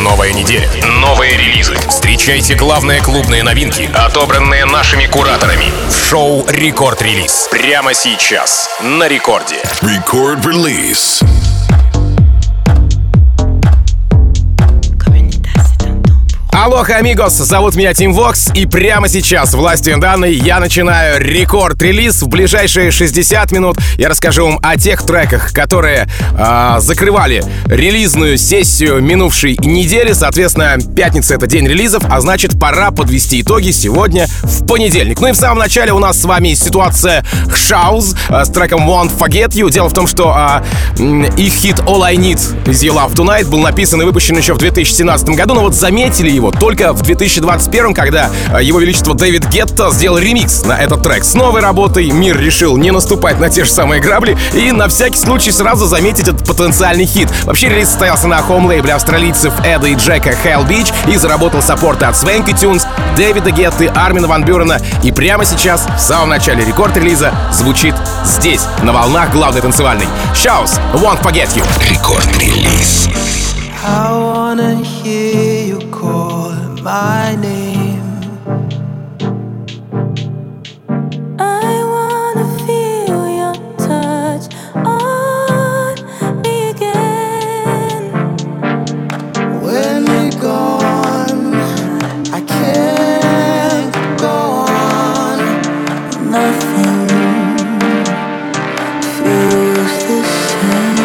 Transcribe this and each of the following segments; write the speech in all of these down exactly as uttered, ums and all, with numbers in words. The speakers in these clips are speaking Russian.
Новая неделя, новые релизы. Встречайте главные клубные новинки, отобранные нашими кураторами. В шоу «Рекорд-релиз». Прямо сейчас на Рекорде. Рекорд-релиз. Алоха, амигос! Зовут меня Тим Вокс, и прямо сейчас, властью данной, я начинаю рекорд-релиз. В ближайшие шестьдесят минут я расскажу вам о тех треках, которые э, закрывали релизную сессию минувшей недели. Соответственно, пятница — это день релизов, а значит, пора подвести итоги сегодня в понедельник. Ну и в самом начале у нас с вами ситуация Shouse э, с треком Won't Forget You. Дело в том, что э, их хит All I Need Is Your Love Tonight был написан и выпущен еще в две тысячи семнадцатом году, но вот заметили его только в две тысячи двадцать первом, когда Его Величество Дэвид Гетта сделал ремикс на этот трек. С новой работой мир решил не наступать на те же самые грабли и на всякий случай сразу заметить этот потенциальный хит. Вообще релиз состоялся на хоум-лейбле австралийцев Эда и Джека Hell Beach и заработал саппорты от Swanky Tunes, Дэвида Гетты, Армина Ван Бюрена. И прямо сейчас, в самом начале рекорд-релиза, звучит здесь, на волнах главной танцевальной. Shouse, Won't Forget You. Рекорд-релиз. I wanna hear you call my name. I wanna feel your touch on me again. When you're gone, I can't go on. Nothing feels the same.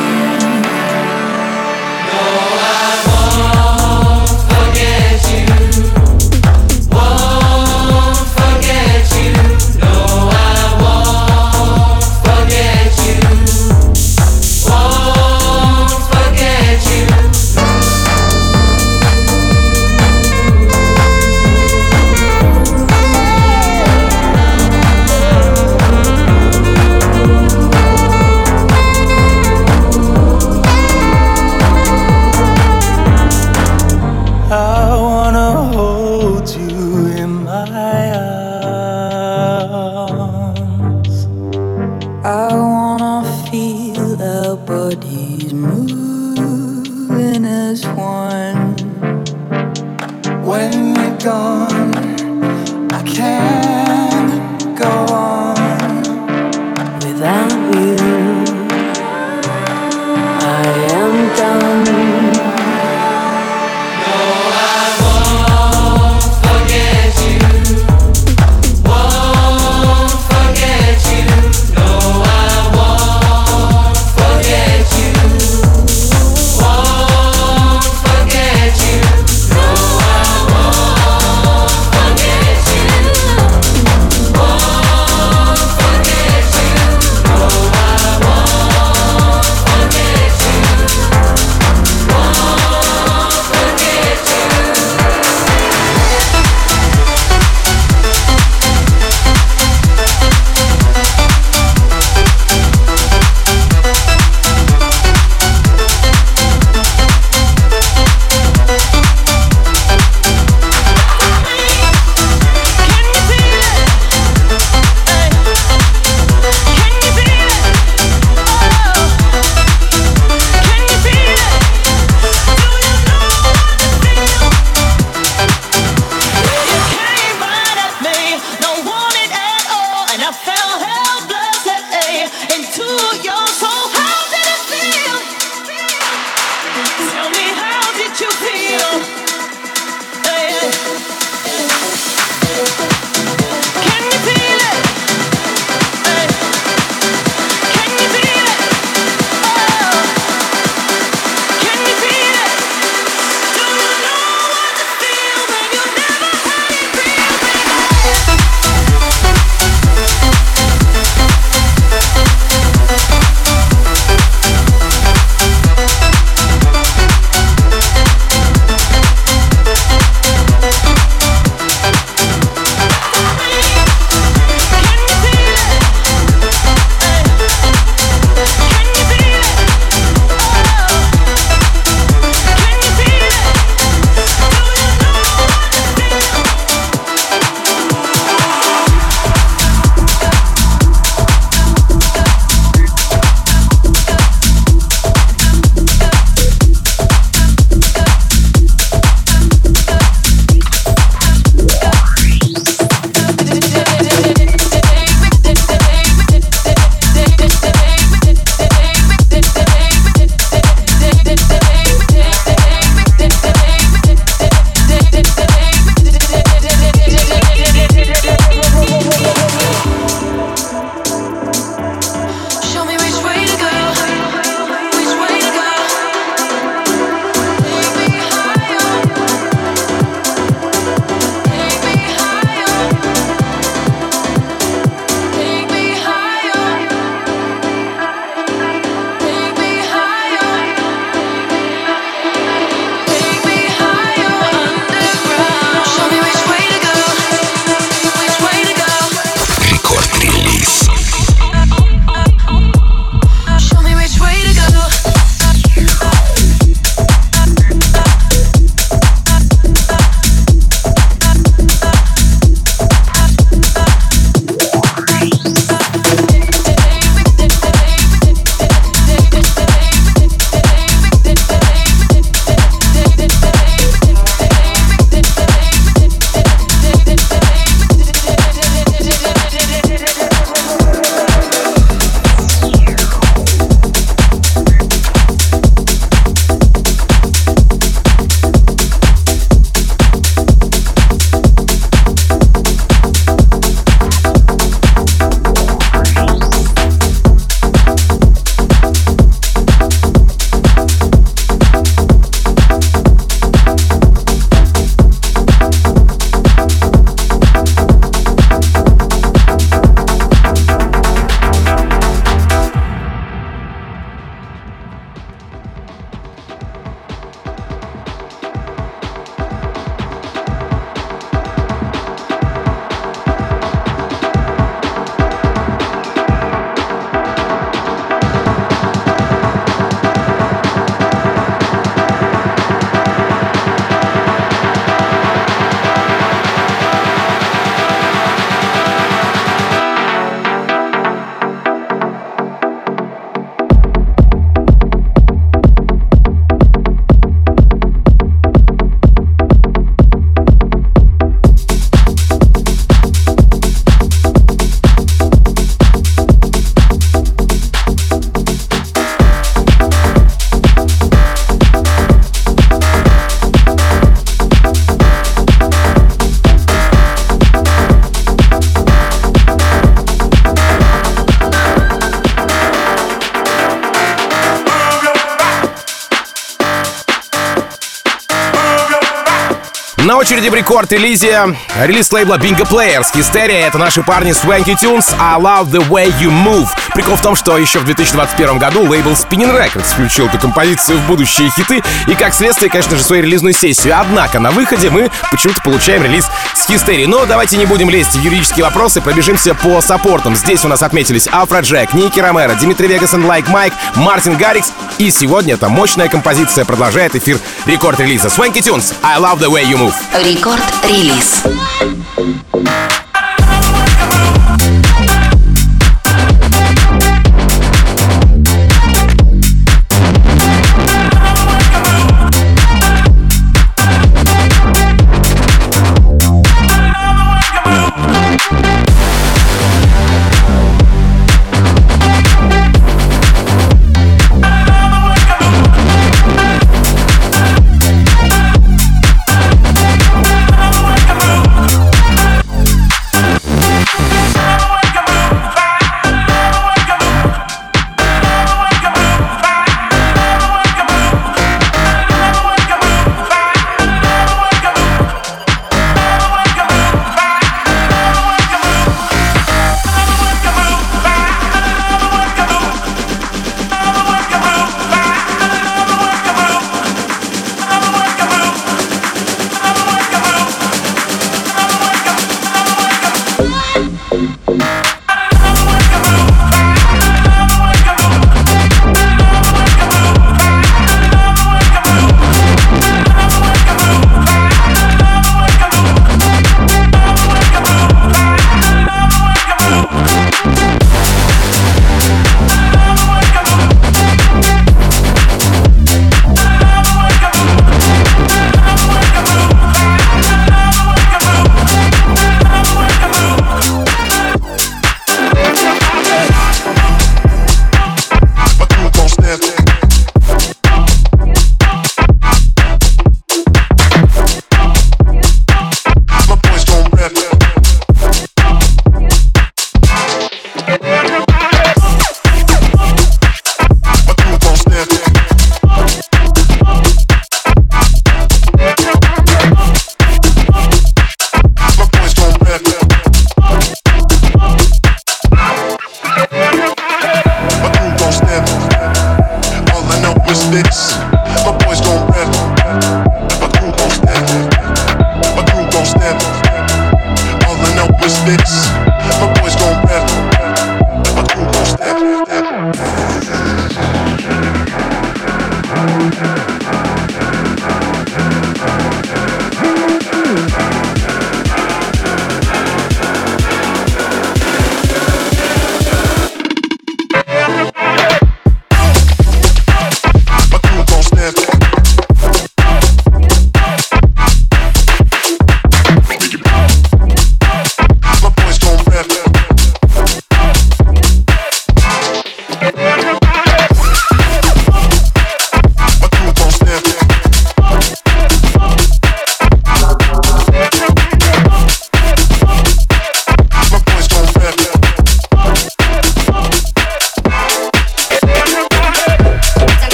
На очереди в рекорд-релизе релиз лейбла Bingo Players. Hysteria — это наши парни Swanky Tunes, I Love The Way You Move. Прикол в том, что еще в две тысячи двадцать первом году лейбл Spinning Records включил эту композицию в будущие хиты и, как следствие, конечно же, свою релизную сессию. Однако на выходе мы почему-то получаем релиз с Hysteria. Но давайте не будем лезть в юридические вопросы, пробежимся по саппортам. Здесь у нас отметились Афроджек, Ники Ромеро, Димитри Вегас и Like Mike, Мартин Гаррикс. И сегодня эта мощная композиция продолжает эфир рекорд-релиза. Swanky Tunes, I Love The Way You Move. Рекорд-релиз.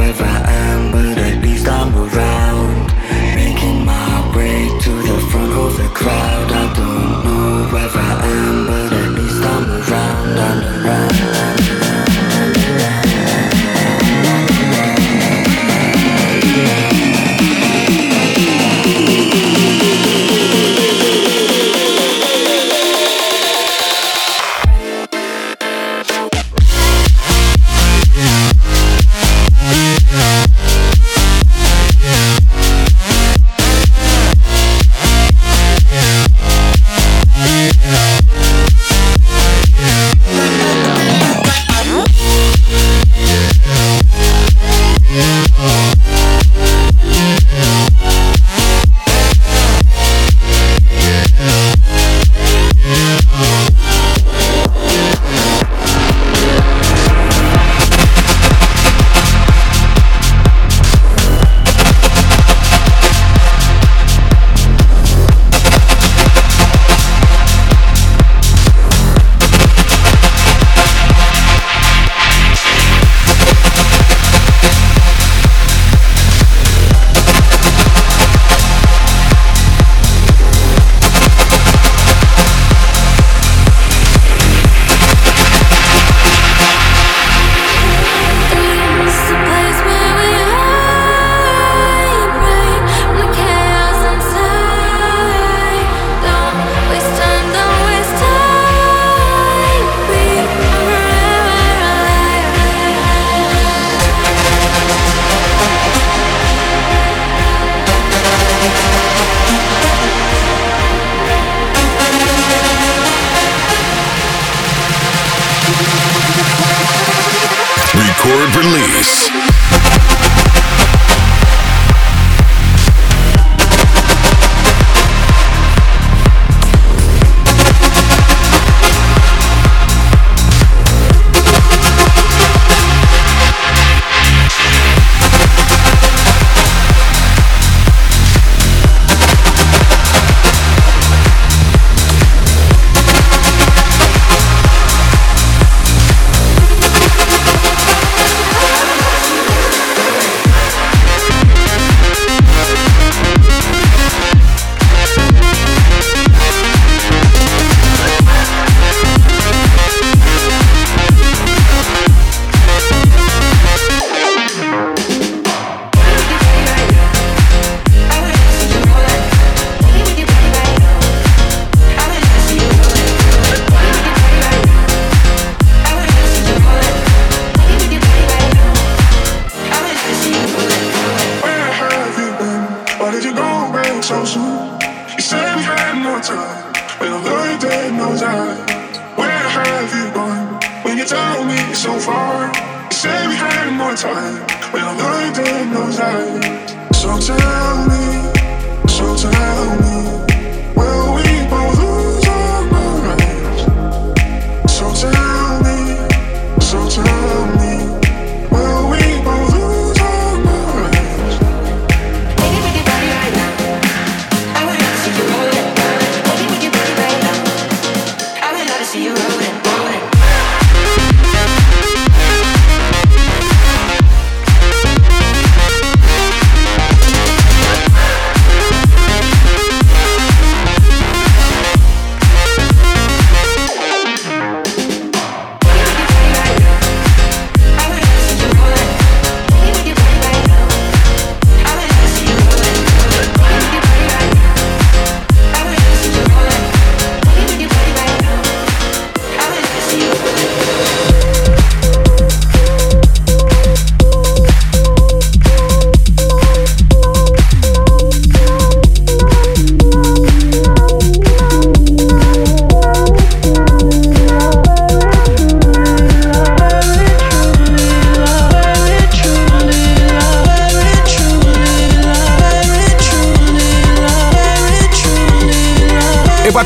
wherever I am, but at least I'm around. Making my way to the front of the crowd. I don't know wherever I am, but at least I'm around and around. Record release.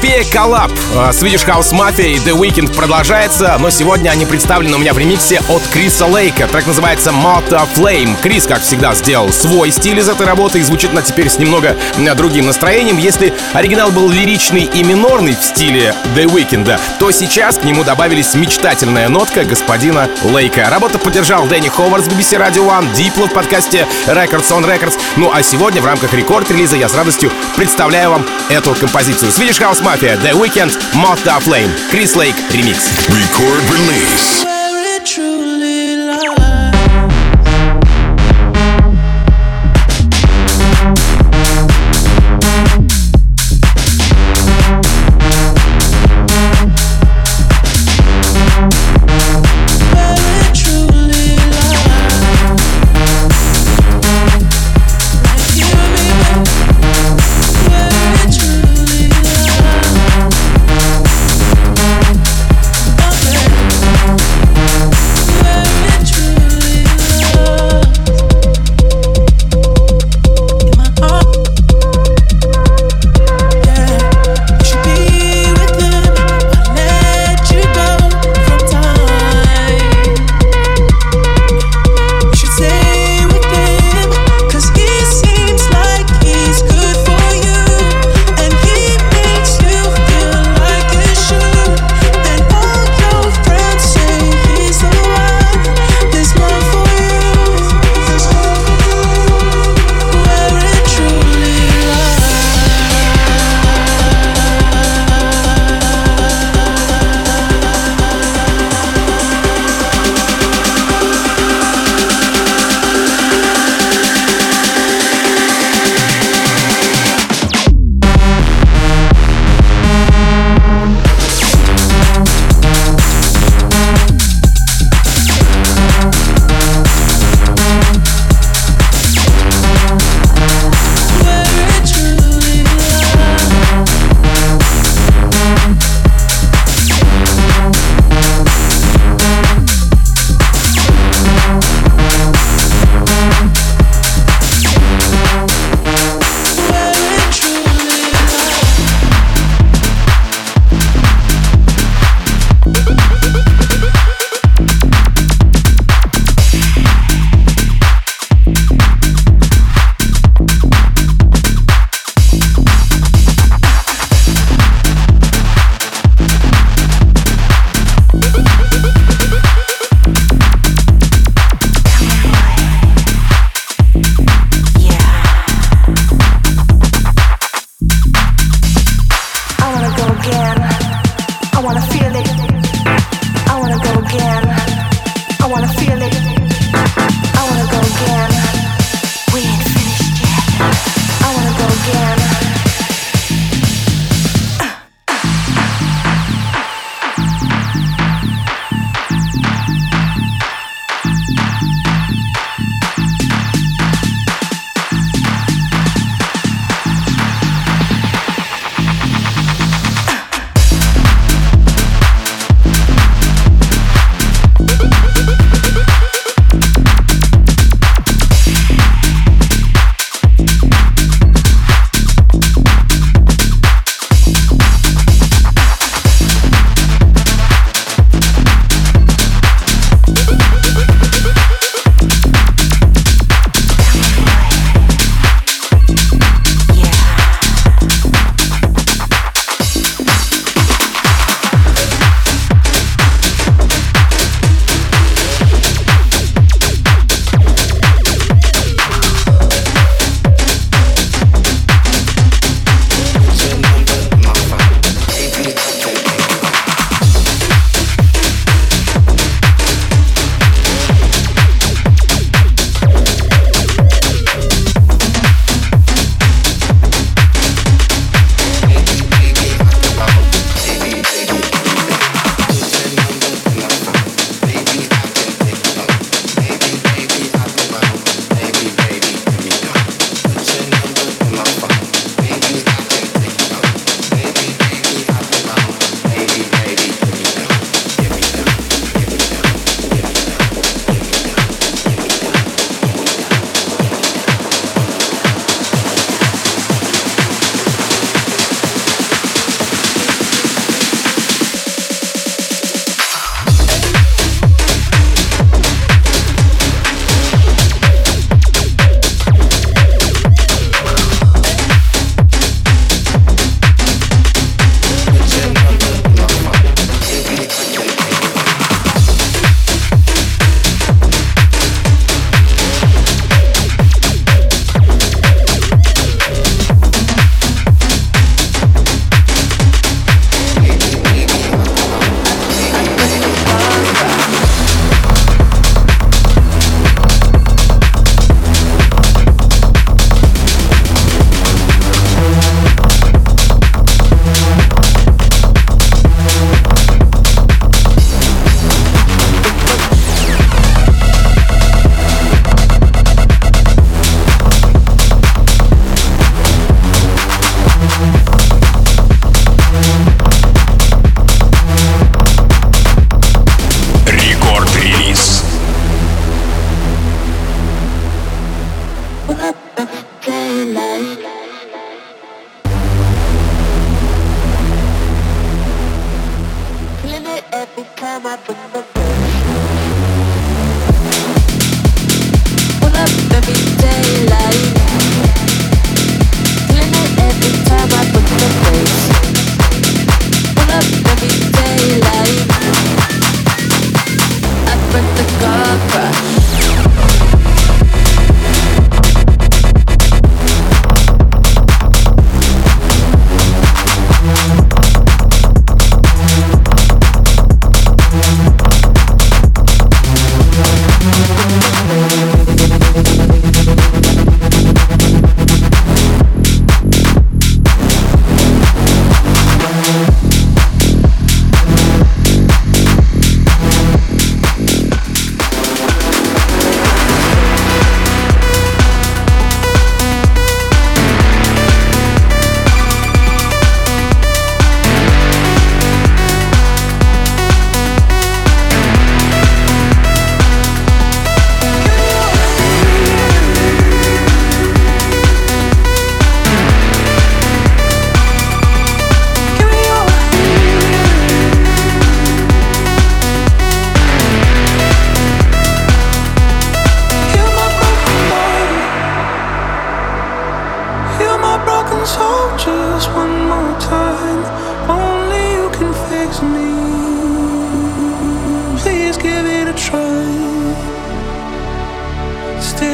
Эпопея коллаб Swedish House Mafia и The Weeknd продолжается, но сегодня они представлены у меня в ремиксе от Криса Лейка. Трек называется Moth Flame. Крис, как всегда, сделал свой стиль из этой работы и звучит она теперь с немного другим настроением. Если оригинал был лиричный и минорный в стиле The Weeknd, то сейчас к нему добавились мечтательная нотка господина Лейка. Работу поддержал Дэнни Ховард с би би си Radio One, Diplo в подкасте Records on Records. Ну а сегодня в рамках рекорд-релиза я с радостью представляю вам эту композицию. Swedish House Mafia, The Weeknd, Moth Flame, Крис Лейк, ремикс. Record release. Okay.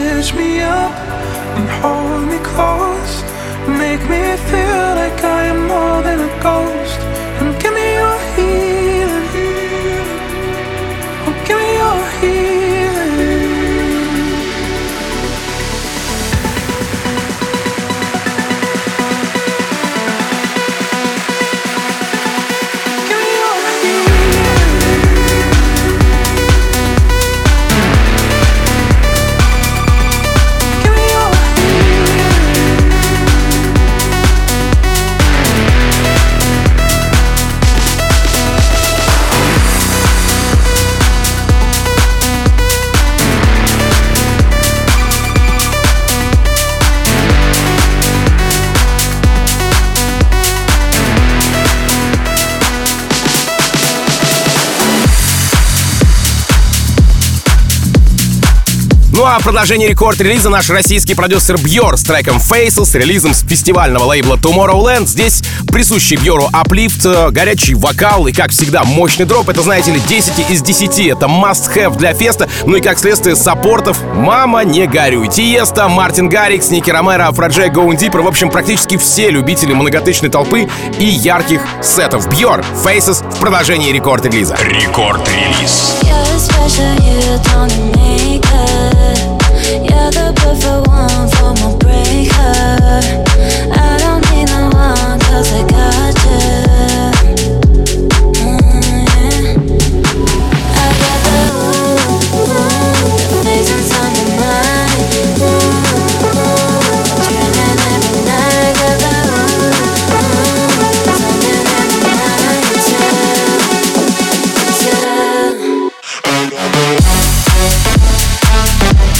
stitch me up and hold me close. Make me feel like I am more than a ghost. And give me your healing. Oh, give me your healing. Give me your healing. Give me your Ну а в продолжении рекорд-релиза наш российский продюсер Бьор с треком Faces, с релизом с фестивального лейбла Tomorrowland. Здесь присущий Бьору аплифт, горячий вокал и, как всегда, мощный дроп. Это, знаете ли, десять из десяти. Это must-have для феста. Ну и, как следствие, саппортов «Мама, не горюй». Тиеста, Мартин Гаррикс, Ники Ромеро, Афроджей, Going Deeper. В общем, практически все любители многотысячной толпы и ярких сетов. Бьор, Faces в продолжении рекорд-релиза. Рекорд-релиз. You're the perfect one for my breaker. I don't need no one, cause I got you. Mm, yeah. I got the ooh, ooh, the faces on your mind. Ooh, ooh, dreaming every night. Got the ooh, ooh, something in the night too, too.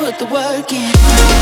put the work in.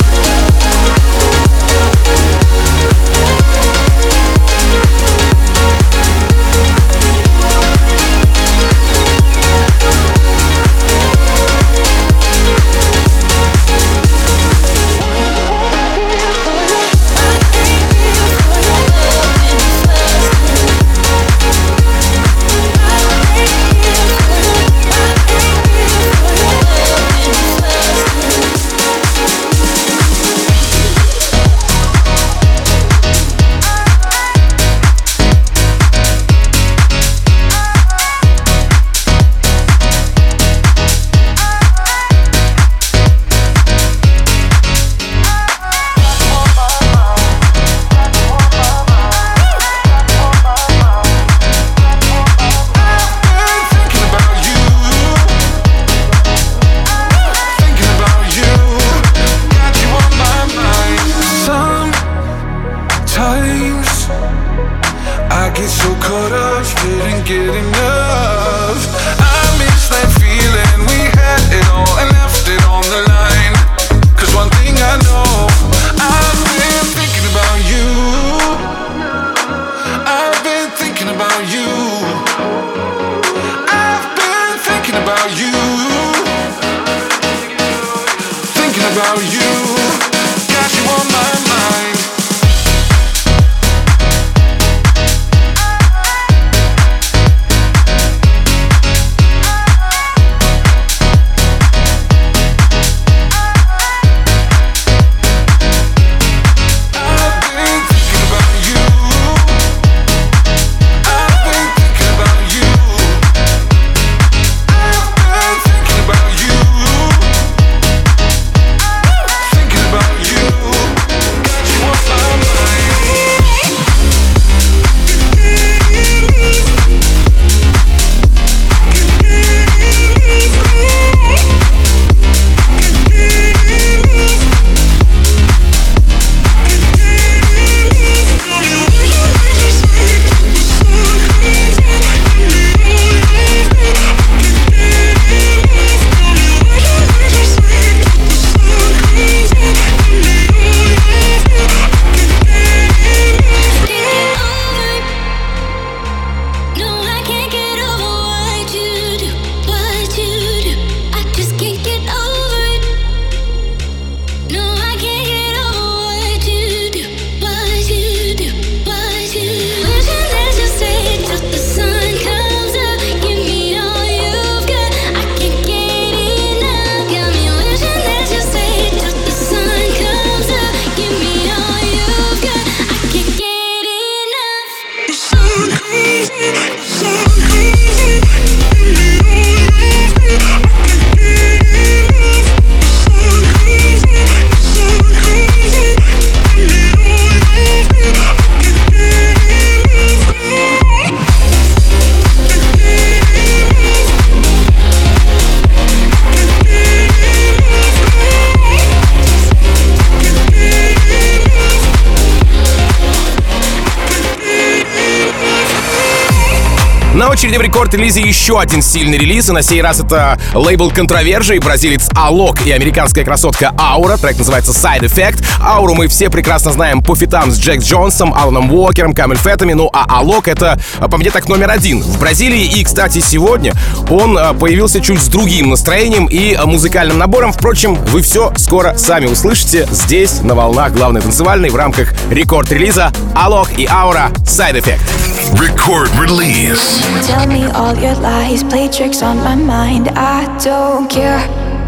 На очереди в рекорд-релизе еще один сильный релиз, и на сей раз это лейбл Controversia, бразилец Alok и американская красотка Aura. Трек называется Side Effect. Ауру мы все прекрасно знаем по фитам с Джек Джонсом, Аланом Уокером, Камель Феттами, ну а Alok это, по мне, так номер один в Бразилии. И, кстати, сегодня он появился чуть с другим настроением и музыкальным набором. Впрочем, вы все скоро сами услышите здесь, на волнах главной танцевальной, в рамках рекорд-релиза Alok и Aura Side Effect. Record release. Tell me all your lies, play tricks on my mind, I don't care.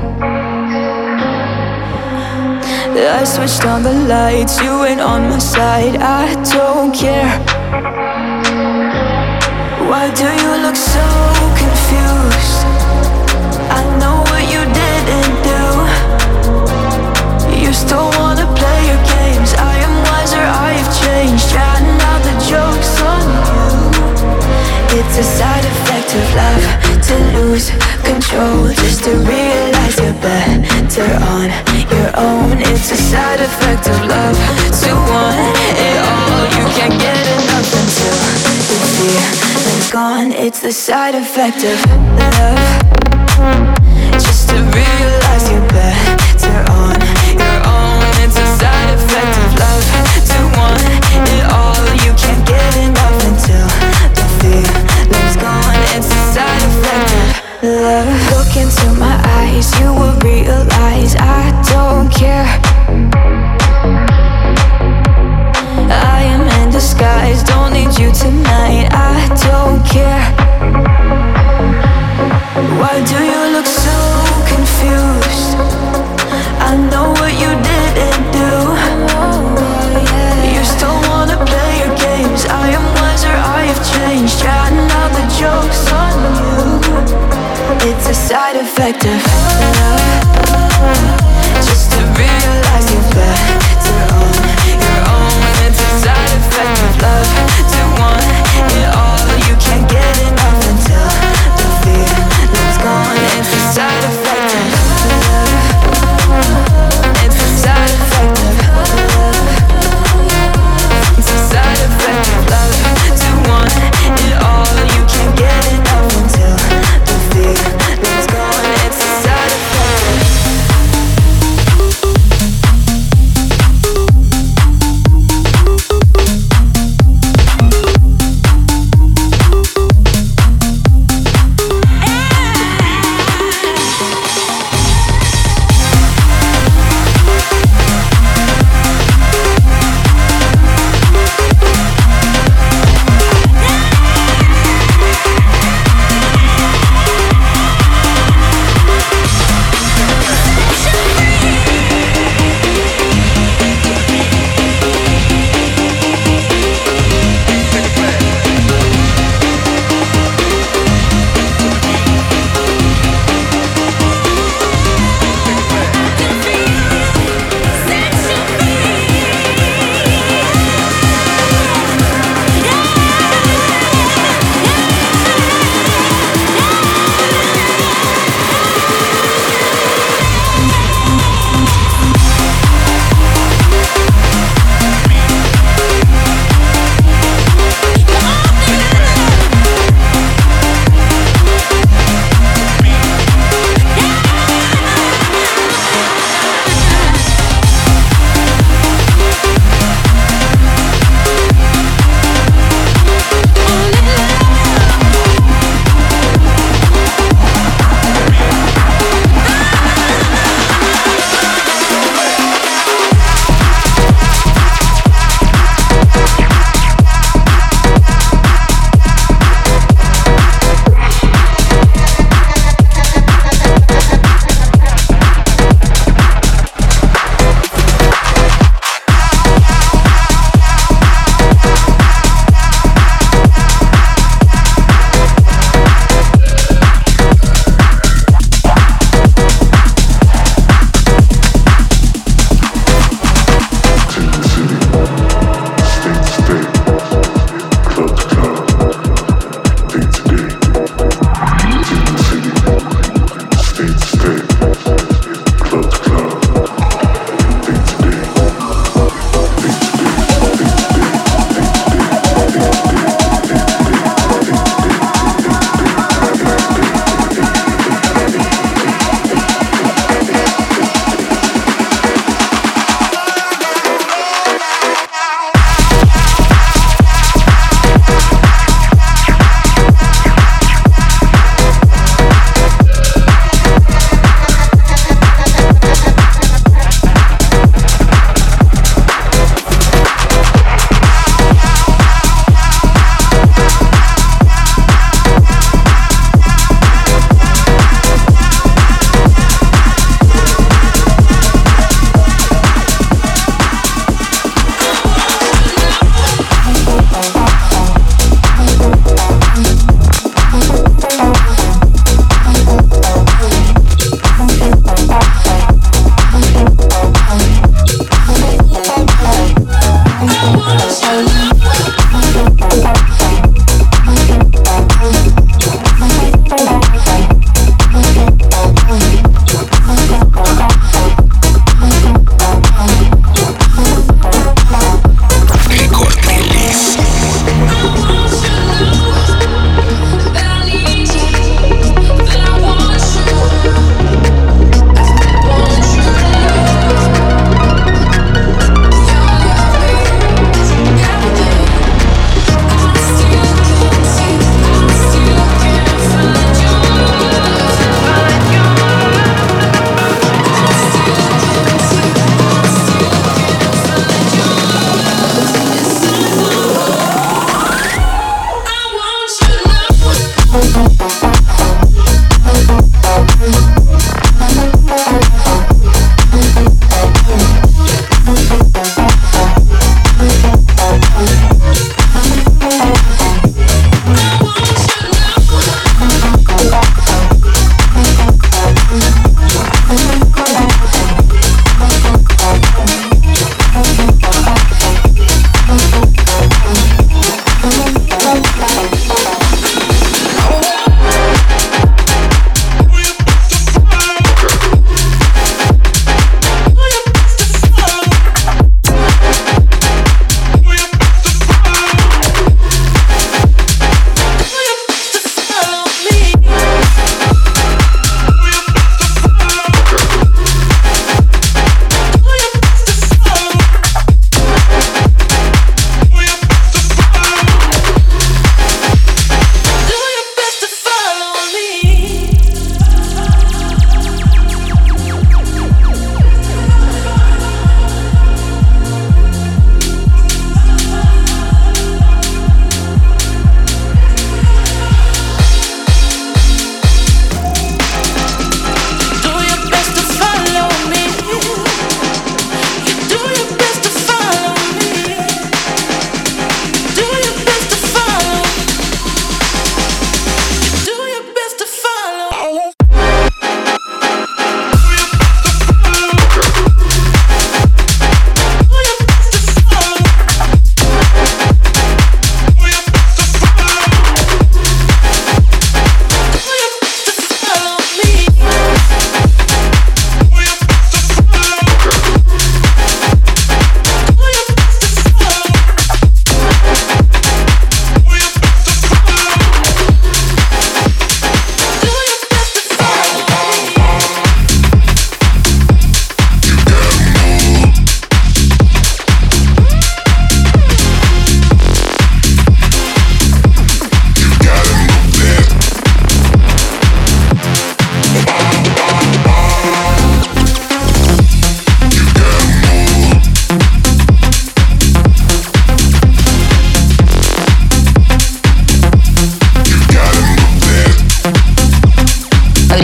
I switched on the lights, you ain't on my side, I don't care. Why do you look so confused? I know what you didn't do. You still wanna play your games, I am wiser, I've changed. Trying out the jokes on you. It's a side effect of love, to lose control, just to realize you're better on your own. It's a side effect of love, to want it all. You can't get enough until the feeling's gone. It's the side effect of love, just to realize you're better on It's a side effect of love. Just to realize you're better on your own. It's a side effect of love. To want it all, you can't get enough until the feeling's gone. It's a side effect of love. It's a side effect of love. It's a side effect of love. To want it all, you can't get enough until the feeling's gone. It's a side effect of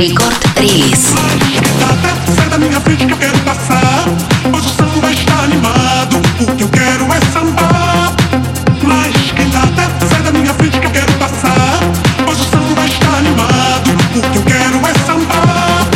Рекорд-релиз. Sai da minha frente que eu quero passar. Hoje o samba está animado. O que eu quero é sambar. Mas quem tá até sai da minha frente que eu quero passar. Hoje o samba está animado. O que eu quero é sambar.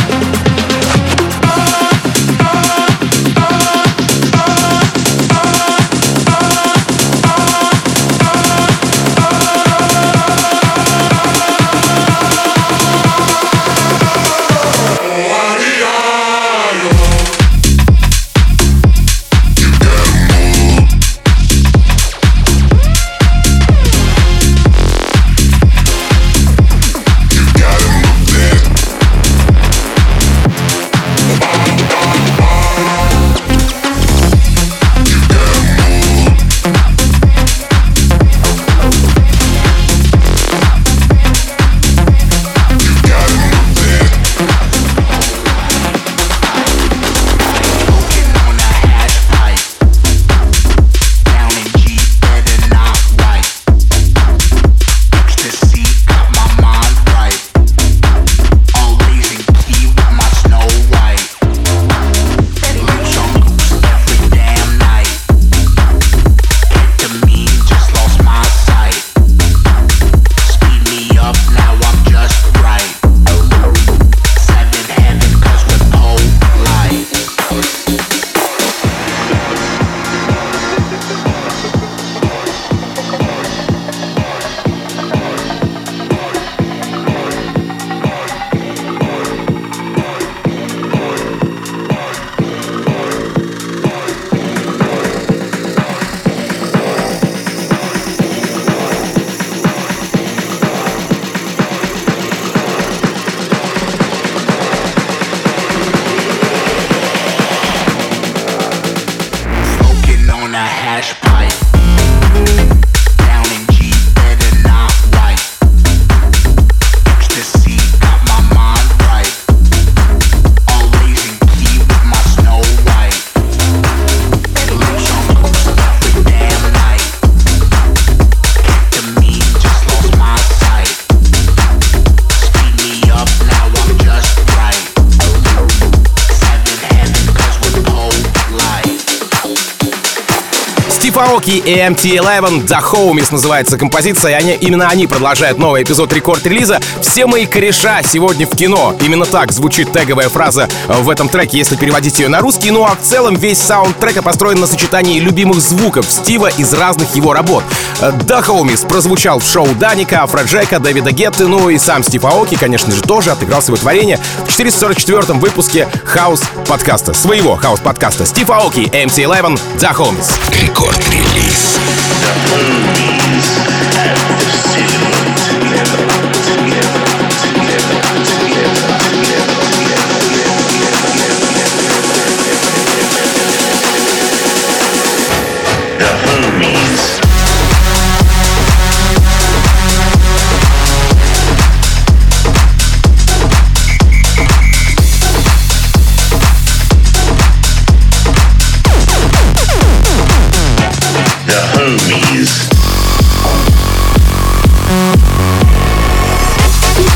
Аоки и эм ти элевен The Homies называется композиция, и они, именно они продолжают новый эпизод рекорд-релиза. Все мои кореша сегодня в кино. Именно так звучит теговая фраза в этом треке, если переводить ее на русский. Ну а в целом весь саунд трека построен на сочетании любимых звуков Стива из разных его работ. The Homies прозвучал в шоу Даника, Афроджека, Дэвида Гетты, ну и сам Стив Аоки, конечно же, тоже отыграл свое творение в четыреста сорок четвёртом выпуске хаус-подкаста, своего хаус-подкаста. Стив Аоки, эм ти элевен The Homies. Рекорд-релиз. Homies.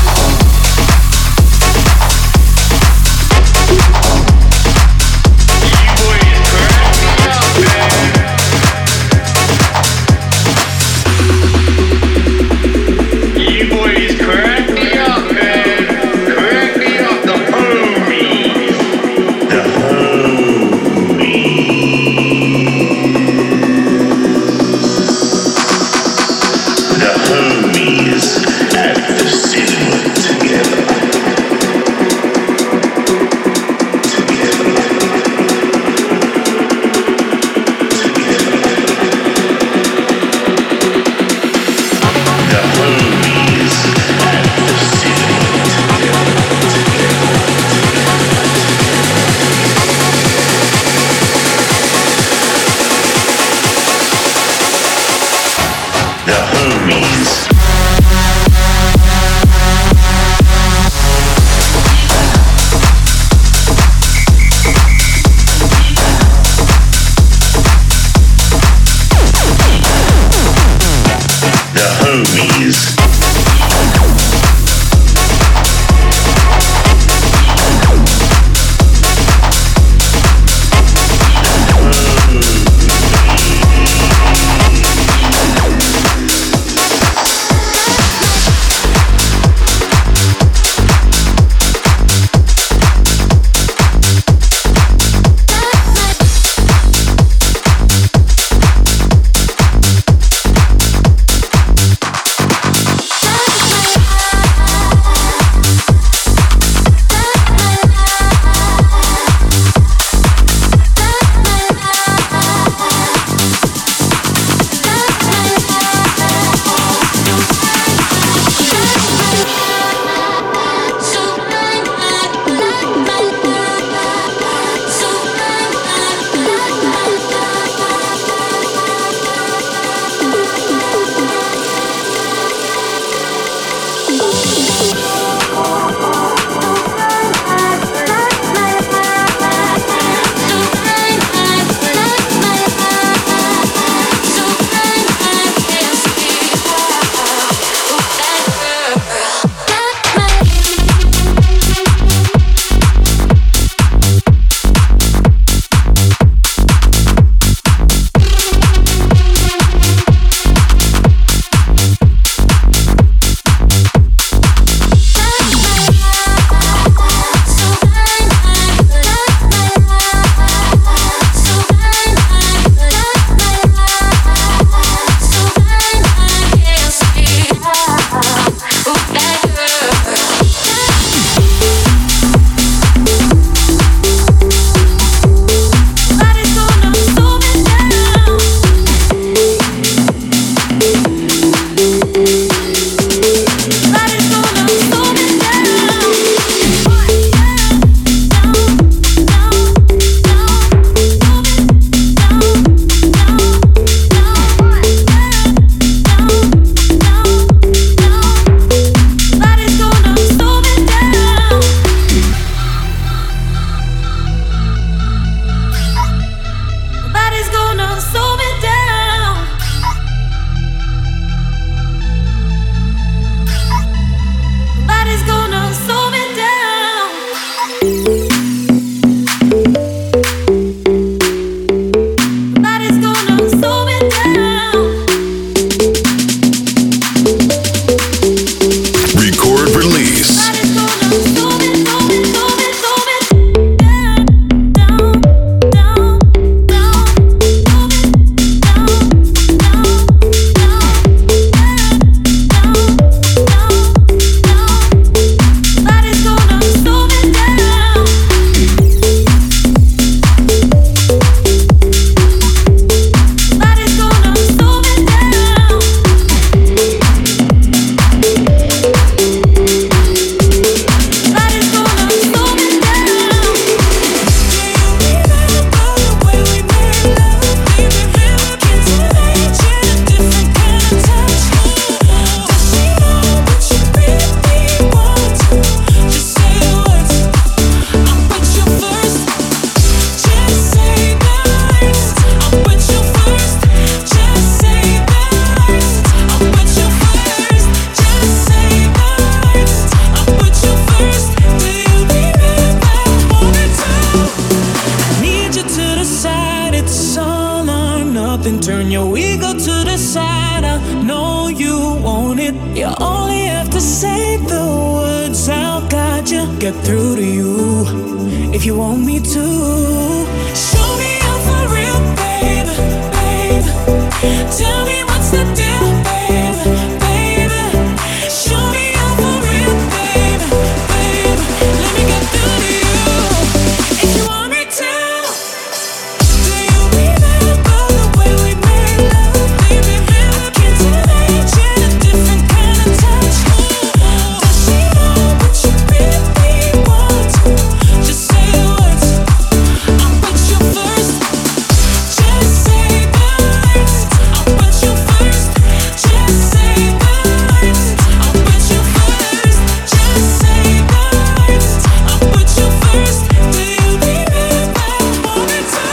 You only have to say the words, I'll guide you, get through to you, if you want me to. Show me you're for real, baby, baby. Tell me what's the deal, baby, baby. Show me you're for real, baby, baby. Let me get through to you, if you want me to. Do you remember the way we made love, baby? I can't imagine a different kind of touch. Does she know what you really want? Just say the words, I'll put you first. Just say the words, I'll put you first. Just say the words, I'll put you first. Just say the words, I'll put you first. Do you remember more than two?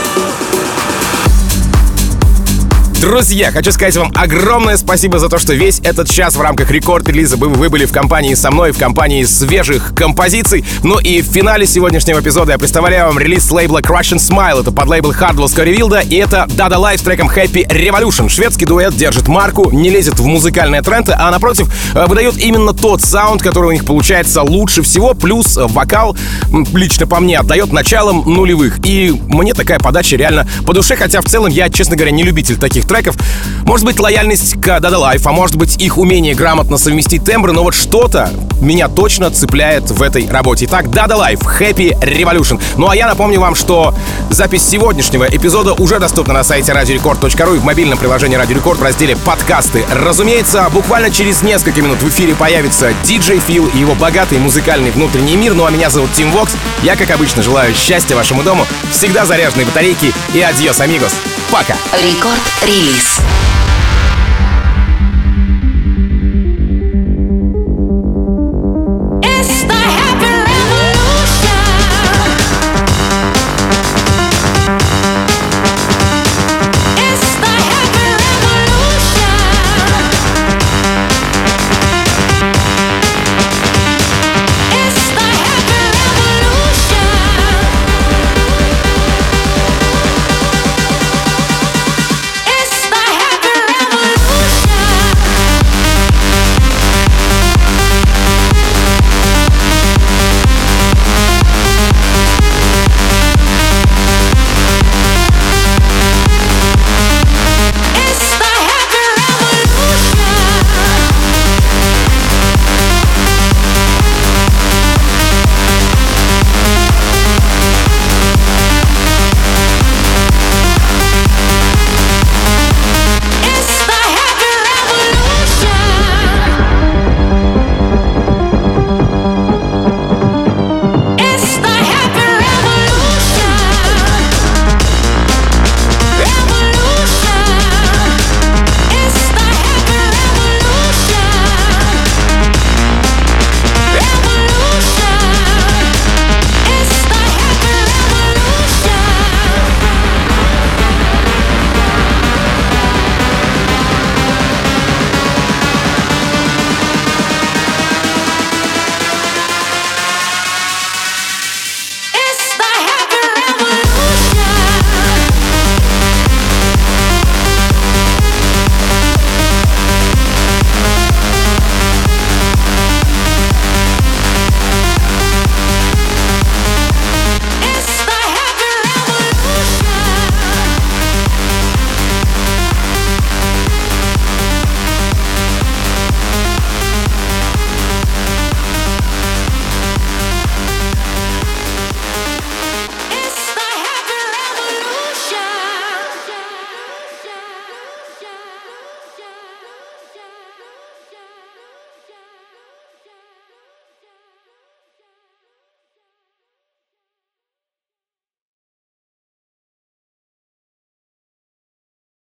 Друзья, хочу сказать вам огромное спасибо за то, что весь этот час в рамках рекорд-релиза вы, вы были в компании со мной, в компании свежих композиций. Ну и в финале сегодняшнего эпизода я представляю вам релиз с лейбла Crush and Smile. Это под лейбл Hardwell Скоривилда, и это Dada Life с треком Happy Revolution. Шведский дуэт держит марку, не лезет в музыкальные тренды, а напротив выдает именно тот саунд, который у них получается лучше всего, плюс вокал, лично по мне, отдает началом нулевых. И мне такая подача реально по душе, хотя в целом я, честно говоря, не любитель таких треков. Может быть, лояльность к Dada Life, а может быть, их умение грамотно совместить тембры, но вот что-то меня точно цепляет в этой работе. Итак, Dada Life, Happy Revolution. Ну а я напомню вам, что запись сегодняшнего эпизода уже доступна на сайте радио рекорд точка ру и в мобильном приложении Радио Рекорд в разделе «Подкасты». Разумеется, буквально через несколько минут в эфире появится диджей Фил и его богатый музыкальный внутренний мир. Ну а меня зовут Тим Вокс. Я, как обычно, желаю счастья вашему дому, всегда заряженной батарейки и адьос, амигос. Пока! Рекорд-релиз.